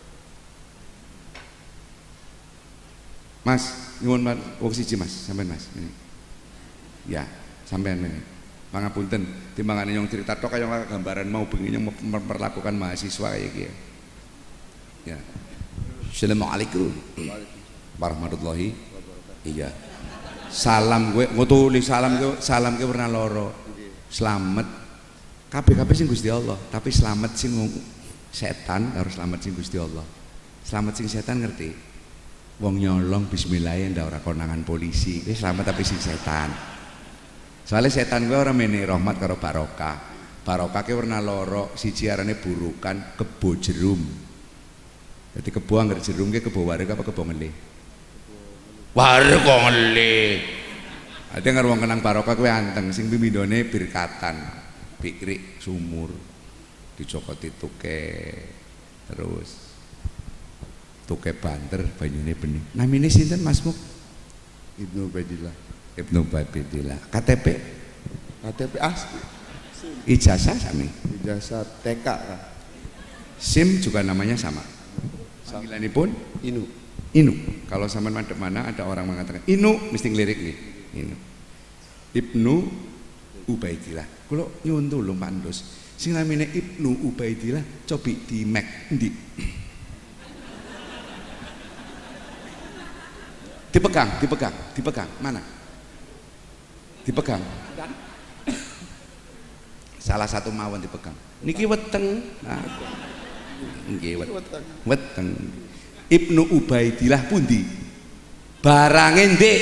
Mas nyuwun wong siji Mas sampean Mas ini. Ya sampean ini. Pangapunten timbangane yang cerita tok kaya gambaran mau bengi yang memperlakukan mahasiswa kayak gitu ya. Assalamualaikum warahmatullahi. Iya salam gue ngutuli salam gue pernah loro selamat kabeh sing Gusti Allah tapi selamat sing setan harus selamat sing Gusti Allah. Selamat sing setan ngerti wong nyolong bismillah ndak ora konangan polisi selamat tapi sing setan. Soalnya setan gue orang meni rahmat karo barokah. Barokah ke warna loro, siji arane burukan kebo jerum. Jadi kebo anggar jerum ke kebo warik apa kebo ngelih? Warik kok ngelih. Ada nggak ruang kenang barokah gue anteng, sing pimidone birkatan, pikrik sumur, dicokoti tuke, terus tuke banter banyune bening. Namine sinten Mas Muk? Ibnu Ubaidillah. Ibnu Ubaidillah. KTP? KTP asli. Ijazah sami. Ijazah TK kan. SIM juga namanya sama. Panggilanipun Inu. Inu. Kalau sampean madhep mana ada orang mengatakan Inu mesti ngelirik nih. Inu. Ibnu Ubaidillah. Kula nyuwun tulung Pak Ndus. Sing namine Ibnu Ubaidillah cobi di Mac ndi? Dipegang. Mana? Dipegang. Salah satu mawon dipegang. Niki weteng. Nah. Nggih weteng. Ibnu Ubaidillah pundi? Barange ndek.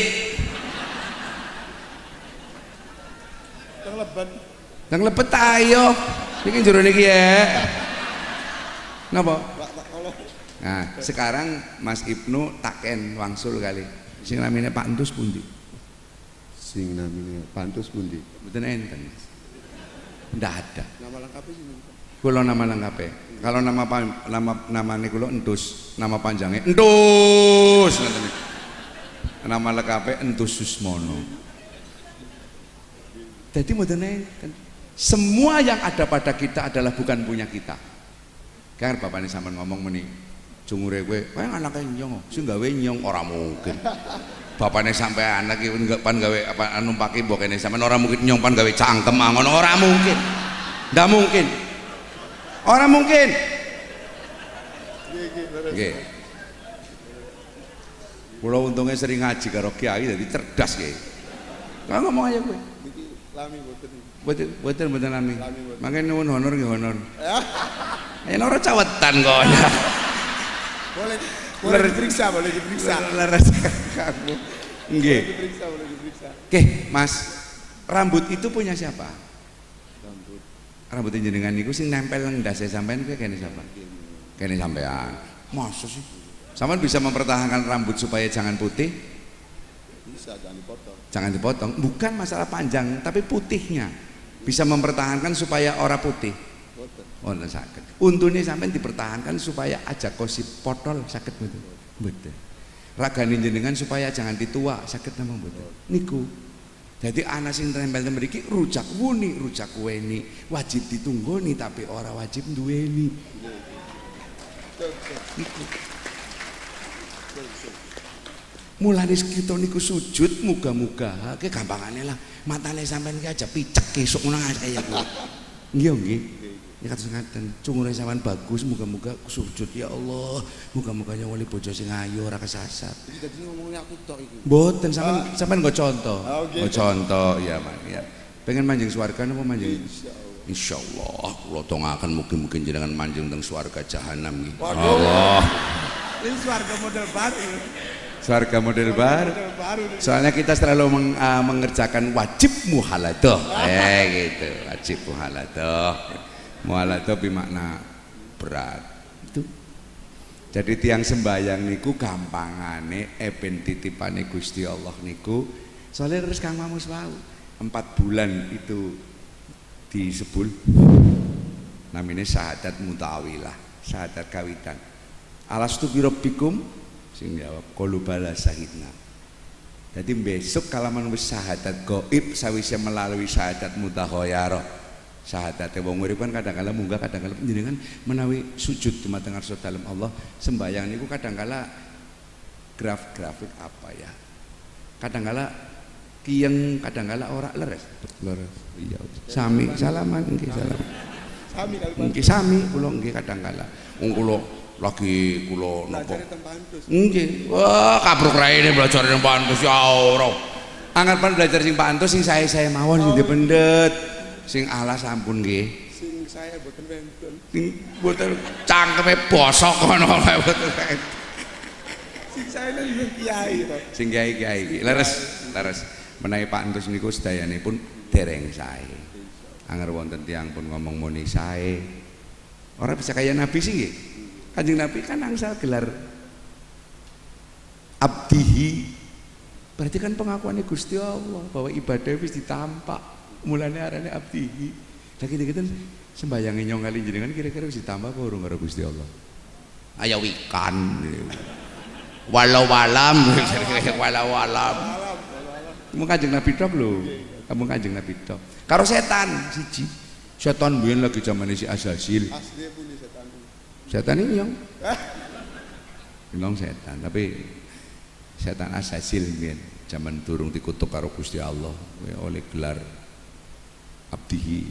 Teng lebet ayo. Niki njero niki ya. Napa? Nah, sekarang Mas Ibnu taken wangsul kali. Sing namine Pak Ndus pundi? Sing namine Pak Ndus pundi? Mboten enten. Ndak ada. Nama lengkapnya sih. Kula nama lengkape. Kalau namane kula Endus, nama panjangnya Endus ngoten niku. Nama lengkape Endus Susmono. Jadi mboten enten. Semua yang ada pada kita adalah bukan punya kita. Kan bapakne sampean ngomong meni, jungure kowe, kowe anake nyong, sing gawe nyong ora mungkin. Bapakne sampean anak iki pan gawe apa numpaki mbok kene sampean ora mungkin nyong pan gawe cangkem ngono ora mungkin. Ndak mungkin. Ora mungkin. Nggih. Kula untungnya sering ngaji karo kiai jadi cerdas kiai. Kau ngomong aja kowe. Niki lami mboten. Boten lami. Mangke nuwun honor nggih honor. Ya ora cawetan kok. Boleh diperiksa. Leres kamu. Nggih. Boleh diperiksa. Oke, Mas. Rambut itu punya siapa? Rambut jenengan niku sing nempel nang ndase sampean kuwi kene siapa? Kene sampean. Masa sih? Sampean bisa mempertahankan rambut supaya jangan putih? Bisa, jangan dipotong. Jangan dipotong. Bukan masalah panjang, tapi putihnya. Bisa mempertahankan supaya ora putih. Oh, sakit. Untune sampean dipertahankan supaya aja kosip potol sakit betul. Betul. Ragane jenengan supaya jangan ditua sakit namung betul. Niku. Jadi anak sing tempel mriki rujak wuni, rujak weni, wajib ditunggoni tapi ora wajib duweni. Niku. Mulane kita niku sujud muga-muga ke gampangane lah matane sampean ki aja picek esuk ngono kaya kuwi. Nggih. Ya kados ngaten, cungure sampean bagus muga-muga sujud ya Allah. Muga-muga wali bojo sing ayu ora kesasar. Iki dadi ngomongnya aku tok iki. Mboten sampean nggo contoh. Okay. Nggo contoh ya, Mas ya. Pengen manjing swarga napa manjing? Insyaallah kula tongaken mugi-mugi jenengan manjing teng swarga jahanam nggih. Allah. Ini swarga model baru. Swarga model baru. Soalnya kita selalu mengerjakan wajib muhaladah. Gitu, wajib muhaladah. Muhaladah bermakna berat. Itu. Jadi tiang sembayang niku gampangane ben titipane Gusti Allah niku. Soalnya terus Kang Mamus wau 4 bulan itu disebul namanya syahadat mutawilah, syahadat kawitan. Alastu bi rabbikum sing jawab qalu bala syahidna. Jadi besok kalaman wis syahadat gaib sawise melalui syahadat mutahoyarah. Syahadat wong urip kan kadang-kala munggah kadang-kala panjenengan menawi sujud dumateng ngarsa dalem Allah sembahyang niku kadang-kala grafik apa ya. Kadang-kala kiyeng kadang-kala ora leres. Iya. Sami salaman nggih salam. Sami kali nggih sami kula nggih kadang-kala. Wong kula lagi kula napa? Nggih. Wah, kabruk raine belajar ning Pak Antus ya ora. Anggapan belajar sing Pak Antus sing saya mawon sing pendet. Sing alas ampun nggih. Sing saya boten wonten. Mboten cangkeme bosok kono mboten. Sing saya nang kiai to. Sing kiai iki leres. Menawi Pak Antus niku sedayanipun dereng sae. Anger wonten tiyang pun ngomong muni sae. Ora bisa kaya Nabi sih nggih. Kanjeng Nabi kan angsal gelar abdihi. Berarti kan pengakuannya Gusti Allah bahwa ibadah wis ditampak. Mulane arane abdihi. Lah gitu-gitu sembayange nyong kali jenengan kira-kira wis ditambah apa urung karo Gusti Allah? Ayo wikan. Walau walam. Kamu Kanjeng Nabi tok lho. Kamu Kanjeng Nabi tok. Karo setan siji. Setan biyen lagi zamane si Azazil. Asli punya setan. Setan ini yang bilang setan, tapi setan Azazil biyen zaman durung dikutuk karo Gusti Allah oleh gelar abdihi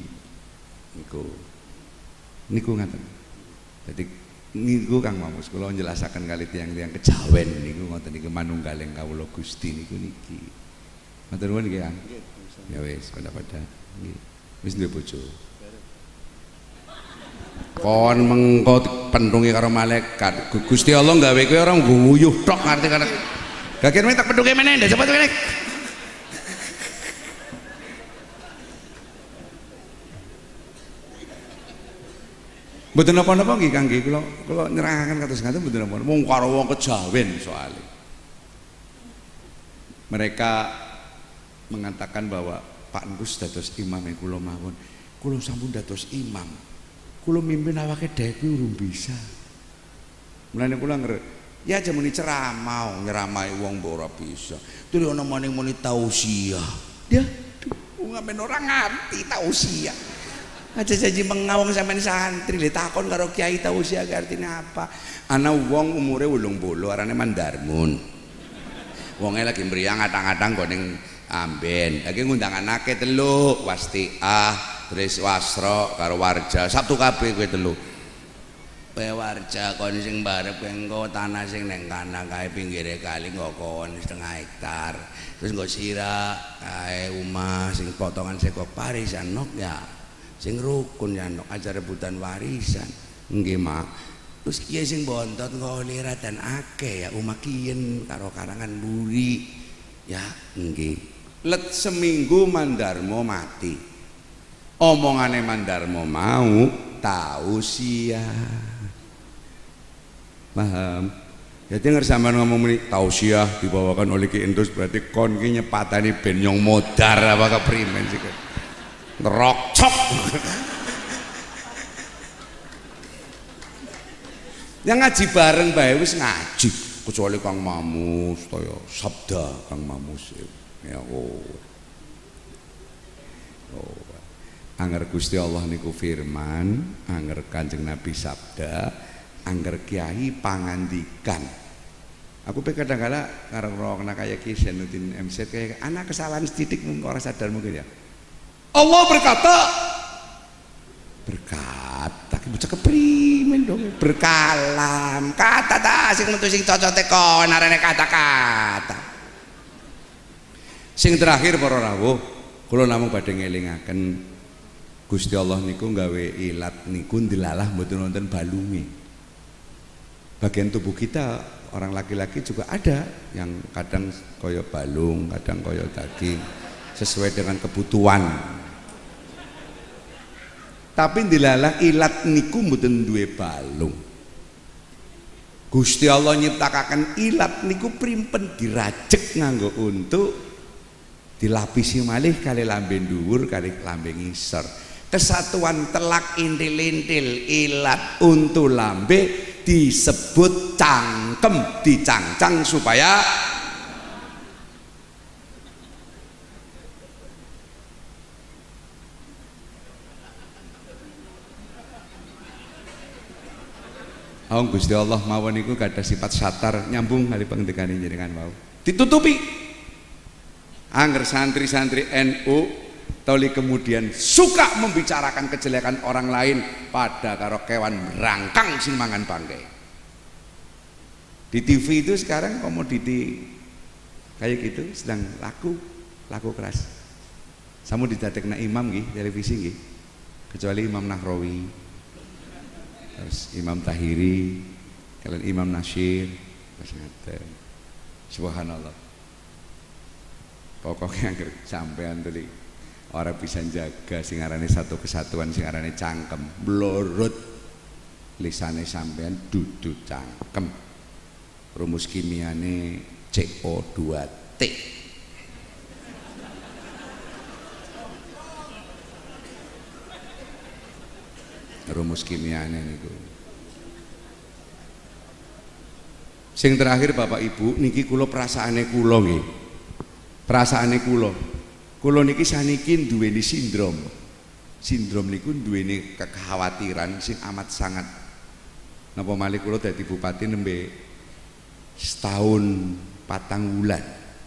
niku ngaten. Dadi niku Kang Mamus kula njelasaken kali tiyang-tiyang kejawen niku ngoten niku manunggaling kawula Gusti niku niki. Matur nuwun nggih Kang. Ya wis pada nggih. Wis duwe bojo. Kon mengko pentungi karo malaikat. Gusti Allah gawe kowe ora nguyuh tok arti karo. Gak tak pentunge meneh ndak cepet meneh. Mboten napa-napa nggih Kang nggih kula nyerahaken kados ngaten mboten napa-napa mung karo wong kejawen soalnya. Mereka mengatakan bahwa Pak Ngus dados imam yang kula mawon. Kula sampun dados imam. Kula mimpin awake dhewe kuwi urung bisa. Mulane kula ya aja muni ceramah, nyeramai wong mbok ora bisa. Terus ana maning muni tausiah. Ya, wong amen ora ngerti tausiah. Aja janji mengawang sampean santri le takon karo kiai tausiah artinya apa? Ana wong umure 80 arane Mandarmun. Wonge lagi mriyang ngatang-ngatang go ning Amben. Lagi ngundang anake telu, Wastiah, terus Wasro karo Warja. Sabtu kabeh kowe telu. Kowe Warja kon sing barep engko tanah sing ning kana kae pinggire kali nggo kon 1/2 hektar. Terus nggo sira kae omah sing potongan sego parisan nok ya. Sing rukun ya nok aja rebutan warisan. Nggih, Mak. Terus kiye sing bontot ngolira dan akeh ya omah kiyen karo karangan buri. Ya, nggih. Let seminggu Mandarmo mati. Omongane Mandarmo mau tausiah. Paham? Jadi ngersaman ngomong ini tausiah dibawakan oleh Ki Endus berarti kon ki nyepatani ben nyong modar apa keprimen sih kan? Ngerokcok. Yang ngaji bareng bae wis ngaji kecuali Kang Mamus toyo sabda Kang Mamus ya anger Gusti Allah niku firman, anger Kanjeng Nabi sabda, anger kiai pangandikan. Aku kadang-kadang karo kena kayak Ki Zainuddin MZ kayak anak kesalahan sedikit mungkin orang sadar mungkin ya. Allah berkata bocah keprimen dong berkalam kata ta sing metu sing cocote kon arene kata-kata. Sing terakhir para rawuh kula namung badhe ngelingaken Gusti Allah niku gawe ilat niku ndilalah mboten wonten balunge. Bagian tubuh kita orang laki-laki juga ada yang kadang koyo balung, kadang koyo daging sesuai dengan kebutuhan. Tapi dilalah ilat niku mboten duwe balung. Gusti Allah nyiptakaken ilat niku primpen dirajek nganggo untuk dilapisi malih kali lambe dhuwur kali lambe ngisor. Kesatuan telak intil-intil ilat untu lambe disebut cangkem, dicangcang supaya Gusti Allah mawon niku kada sifat satar nyambung kali pengendikane jenengan mau ditutupi. Angger santri-santri NU toli kemudian suka membicarakan kejelekan orang lain pada karo kewan merangkang sing mangan bangkai. Di TV itu sekarang komoditi kayak gitu sedang laku keras. Samu didadekna imam nggih televisi nggih. Kecuali Imam Nahrawi. Terus Imam Tahiri, kalian Imam Nasyir, subhanallah. Pokoknya sampean tadi orang bisa jaga singarane satu kesatuan, singarane cangkem, blorot lisane sampean dudu cangkem. Rumus kimiane CO2T. Rumus kimiane niku. Sing terakhir Bapak Ibu niki kula perasaane kula nggih. Perasaane kula niki saniki duweni sindrom. Sindrom niku duweni kekhawatiran sing amat sangat. Napa malih kula dadi bupati nembe setahun 4 bulan.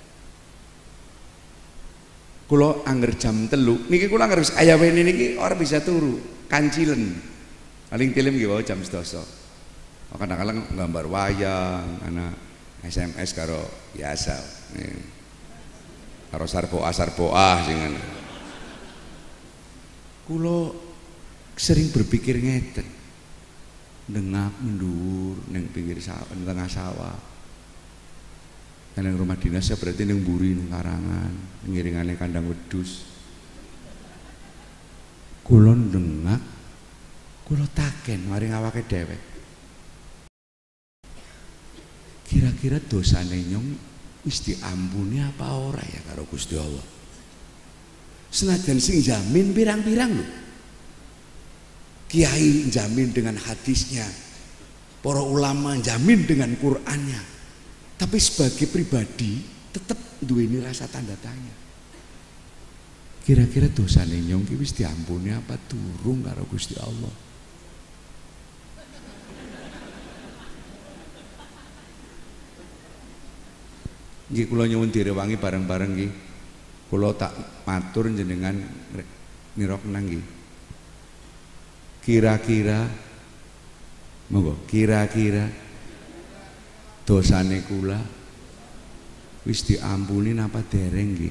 Kula angger jam 3 niki kula angger kaya wene niki ora bisa turu, kancilen. Paling tilem nggih wae jam 12. Kadang-kadang gambar wayang, ana SMS karo biasa. Karo sarboah sing ngono. Kula sering berpikir ngeten. Dengak mendur ning pinggir sawah, tengah sawah. Nang rumah dinas ya berarti ning mburi ning karangan, ngiringane kandang wedhus. Kula dengak, kula taken maring awake dhewe. Kira-kira dosane nyong wis diampuni apa ora ya karo Gusti Allah? Senajan sing jamin pirang-pirang lho. Kiai jamin dengan hadisnya, para ulama jamin dengan Qur'annya. Tapi sebagai pribadi tetap duweni rasa tanda tanya. Kira-kira dosane nyong ki wis diampuni apa durung karo Gusti Allah? Nggih kula nyuwun direwangi bareng-bareng nggih. Kula tak matur jenengan nirok nggih. Kira-kira monggo kira-kira dosane kula wis diampuni napa dereng nggih?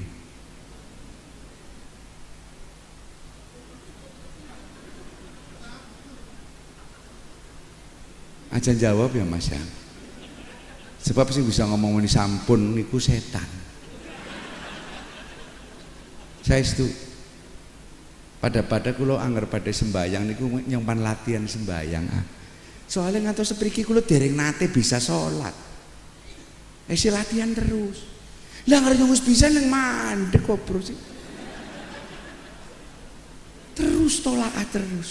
Aja jawab ya Mas ya. Sebab sih bisa ngomong ini sampun niku setan. Saya itu pada kula angger pada sembayang niku nyempan latihan sembayang. Soalnya ngantos sepriki kula dereng nate bisa sholat. Si latihan terus. Lah ngarep wis bisa nang mandek kok bro sih. Terus tolak terus.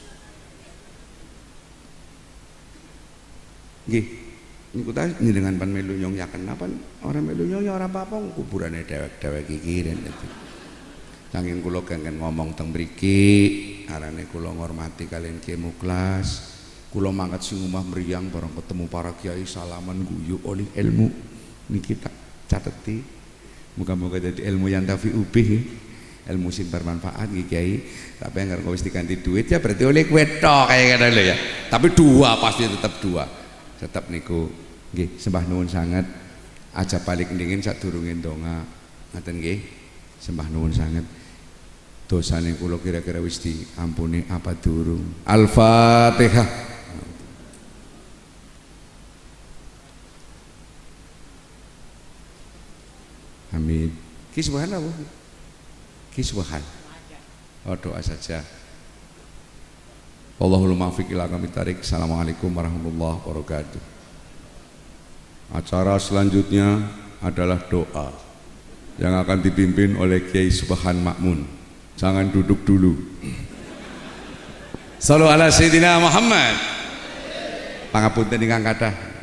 Nggih. Niku ta dengan pan melu nyong yaken napa ora melu nyong ya ora apa-apa kuburane dewek-dewek kikiren itu. Saking kula kengken ngomong teng mriki, arane kula ngormati kalian Kiai Muklas. Kula mangkat sing omah mriyang bareng ketemu para kiai salaman guyu oleh ilmu niki tak cateti. Muga-muga dadi ilmu yang tafi'u bih, ilmu sing bermanfaat nggih Kiai. Tapi yang wis diganti duit ya berarti oleh kowe tok kaya ngono lho ya. Tapi dua pasti tetap dua. Tetap niku nggih sembah nuwun sanget aja balik ndingin sadurunge ndonga. Ngaten nggih. Sembah nuwun sanget. Dosane kula kira-kira wis diampuni apa durung? Al-Fatihah. Amin. Ki subhanallah. Ki subhan. Oh doa saja. Allahul muwaffiq ila aqwamit thariq. Assalamualaikum warahmatullahi wabarakatuh. Acara selanjutnya adalah doa yang akan dipimpin oleh Kiai Subhan Makmun. Jangan duduk dulu. Shallu ala Sayyidina Muhammad. Pangapunten ingkang kathah.